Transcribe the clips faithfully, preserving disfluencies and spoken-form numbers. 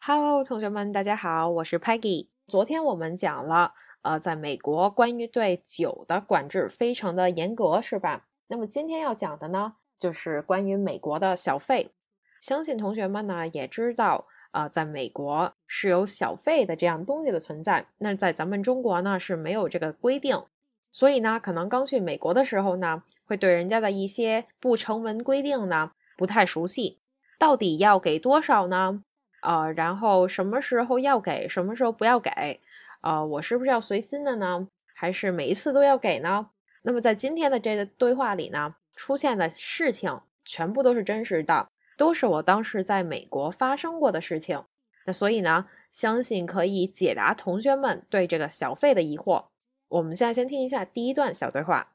Hello，同学们，大家好，我是 Peggy。昨天我们讲了，呃，在美国关于对酒的管制非常的严格，是吧？那么今天要讲的呢，就是关于美国的小费。相信同学们呢也知道，呃，在美国是有小费的这样东西的存在。那在咱们中国呢是没有这个规定，所以呢，可能刚去美国的时候呢，会对人家的一些不成文规定呢不太熟悉，到底要给多少呢？呃，然后什么时候要给，什么时候不要给？呃，我是不是要随心的呢？还是每一次都要给呢？那么在今天的这个对话里呢，出现的事情全部都是真实的，都是我当时在美国发生过的事情。那所以呢，相信可以解答同学们对这个小费的疑惑。我们现在先听一下第一段小对话。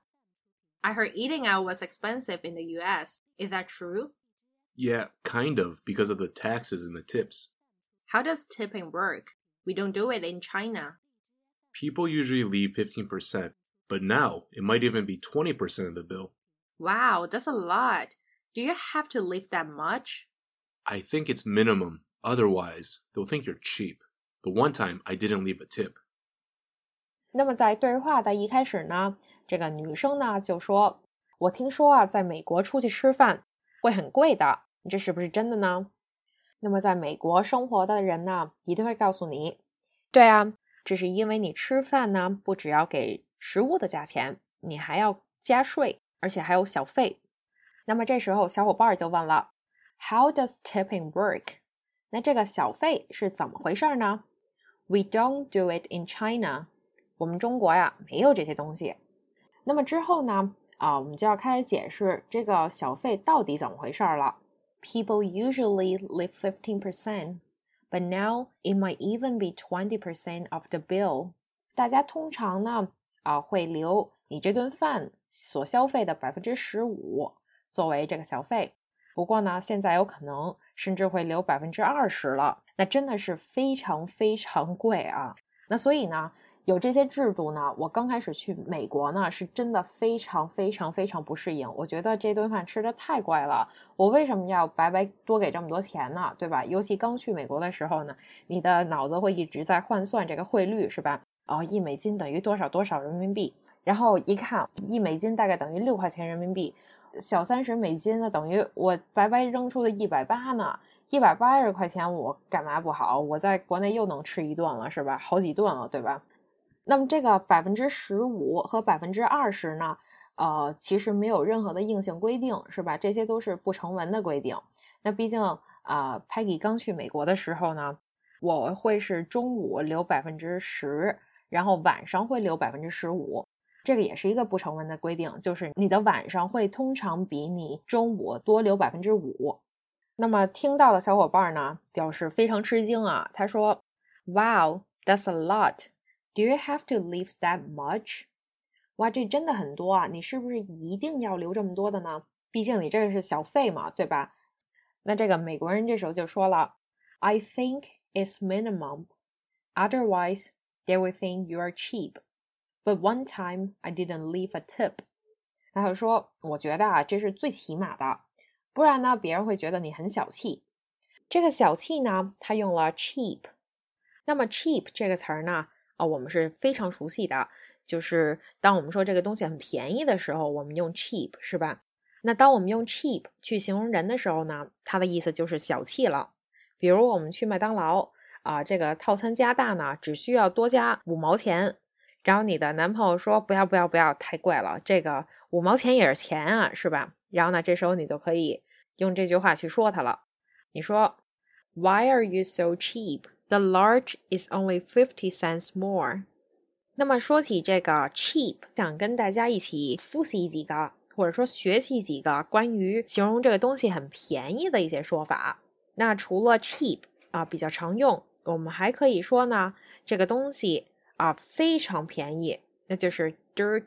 I heard eating out was expensive in the U S. Is that true? Yeah, kind of, because of the taxes and the tips. How does tipping work? We don't do it in China. People usually leave fifteen percent, but now it might even be twenty percent of the bill. Wow, that's a lot. Do you have to leave that much? I think it's minimum. Otherwise, they'll think you're cheap. The one time I didn't leave a tip. 那么在对话的一开始呢，这个女生呢就说，我听说啊，在美国出去吃饭会很贵的，这是不是真的呢？那么在美国生活的人呢，一定会告诉你，对啊，这是因为你吃饭呢，不只要给食物的价钱，你还要加税，而且还有小费。那么这时候小伙伴就问了 How does tipping work? 那这个小费是怎么回事呢？ We don't do it in China. 我们中国呀，没有这些东西。那么之后呢，啊，我们就要开始解释这个小费到底怎么回事了。People usually leave fifteen percent, but now it might even be twenty percent of the bill. 大家通常呢，啊，会留你这顿饭所消费的百分之十五作为这个小费。不过呢，现在有可能甚至会留百分之二十了，那真的是非常非常贵啊。那所以呢，有这些制度呢，我刚开始去美国呢，是真的非常非常非常不适应。我觉得这顿饭吃的太贵了，我为什么要白白多给这么多钱呢？对吧？尤其刚去美国的时候呢，你的脑子会一直在换算这个汇率，是吧？哦，一美金等于多少多少人民币，然后一看，一美金大概等于六块钱人民币，小三十美金呢，等于我白白扔出的一百八呢。一百八十块钱我干嘛不好？我在国内又能吃一顿了，是吧？好几顿了，对吧？那么这个百分之十五和百分之二十呢，呃，其实没有任何的硬性规定，是吧？这些都是不成文的规定。那毕竟，呃 ，Peggy 刚去美国的时候呢，我会是中午留百分之十，然后晚上会留百分之十五，这个也是一个不成文的规定，就是你的晚上会通常比你中午多留百分之五。那么听到的小伙伴呢，表示非常吃惊啊，他说 Wow, that's a lot.Do you have to leave that much? 哇，这真的很多啊！你是不是一定要留这么多的呢？毕竟你这个是小费嘛，对吧？那这个美国人这时候就说了 I think it's minimum. Otherwise, they will think you are cheap. But one time, I didn't leave a tip. 他就说，我觉得啊，这是最起码的，不然呢，别人会觉得你很小气。这个小气呢，他用了 cheap。那么 cheap 这个词儿呢，哦，我们是非常熟悉的，就是当我们说这个东西很便宜的时候，我们用 cheap， 是吧？那当我们用 cheap 去形容人的时候呢，它的意思就是小气了。比如我们去麦当劳啊、呃，这个套餐加大呢，只需要多加五毛钱，然后你的男朋友说不要不要不要，太贵了，这个五毛钱也是钱啊，是吧？然后呢，这时候你就可以用这句话去说他了。你说 Why are you so cheap?The large is only fifty cents more. 那么说起这个 cheap， 想跟大家一起复习几个，或者说学习几个关于形容这个东西很便宜的一些说法。那除了 cheap 啊比较常用，我们还可以说呢，这个东西啊非常便宜，那就是 dirt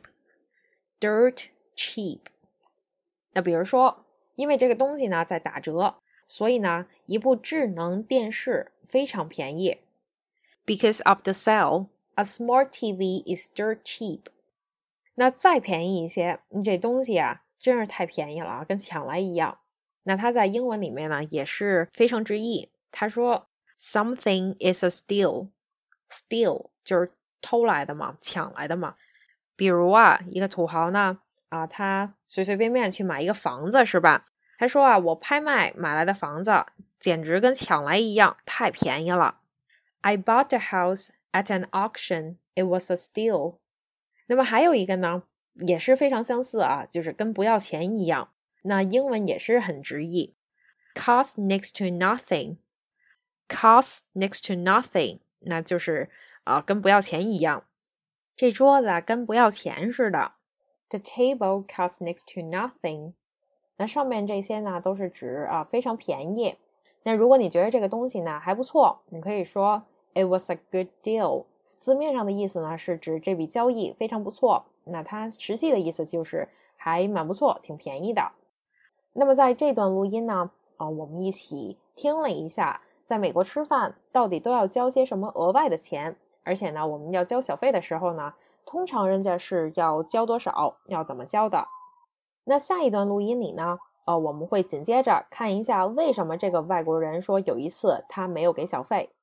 cheap。dirt cheap。那比如说，因为这个东西呢在打折。所以呢，一部智能电视非常便宜。Because of the sale, a smart T V is dirt cheap. 那再便宜一些，你这东西啊，真是太便宜了啊，跟抢来一样。那它在英文里面呢，也是非常直译。他说 Something is a steal. Steal 就是偷来的嘛，抢来的嘛。比如啊，一个土豪呢，啊，他随随便便去买一个房子，是吧？他说啊，我拍卖买来的房子，简直跟抢来一样，太便宜了。I bought the house at an auction. It was a steal. 那么还有一个呢，也是非常相似啊，就是跟不要钱一样。那英文也是很直译 ，cost next to nothing. Cost next to nothing， 那就是啊、呃，跟不要钱一样。这桌子啊，跟不要钱似的。The table costs next to nothing。那上面这些呢，都是指啊非常便宜。那如果你觉得这个东西呢还不错，你可以说 It was a good deal。字面上的意思呢是指这笔交易非常不错，那它实际的意思就是还蛮不错，挺便宜的。那么在这段录音呢，啊、呃，我们一起听了一下，在美国吃饭到底都要交些什么额外的钱。而且呢，我们要交小费的时候呢，通常人家是要交多少，要怎么交的。那下一段录音里呢，呃，我们会紧接着看一下为什么这个外国人说有一次他没有给小费。